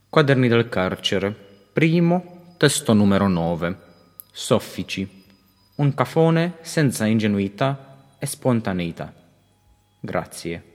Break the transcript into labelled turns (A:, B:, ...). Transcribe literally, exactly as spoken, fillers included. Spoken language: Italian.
A: Quaderni del carcere, primo, testo numero nove. Soffici. Un cafone senza ingenuità e spontaneità. Grazie.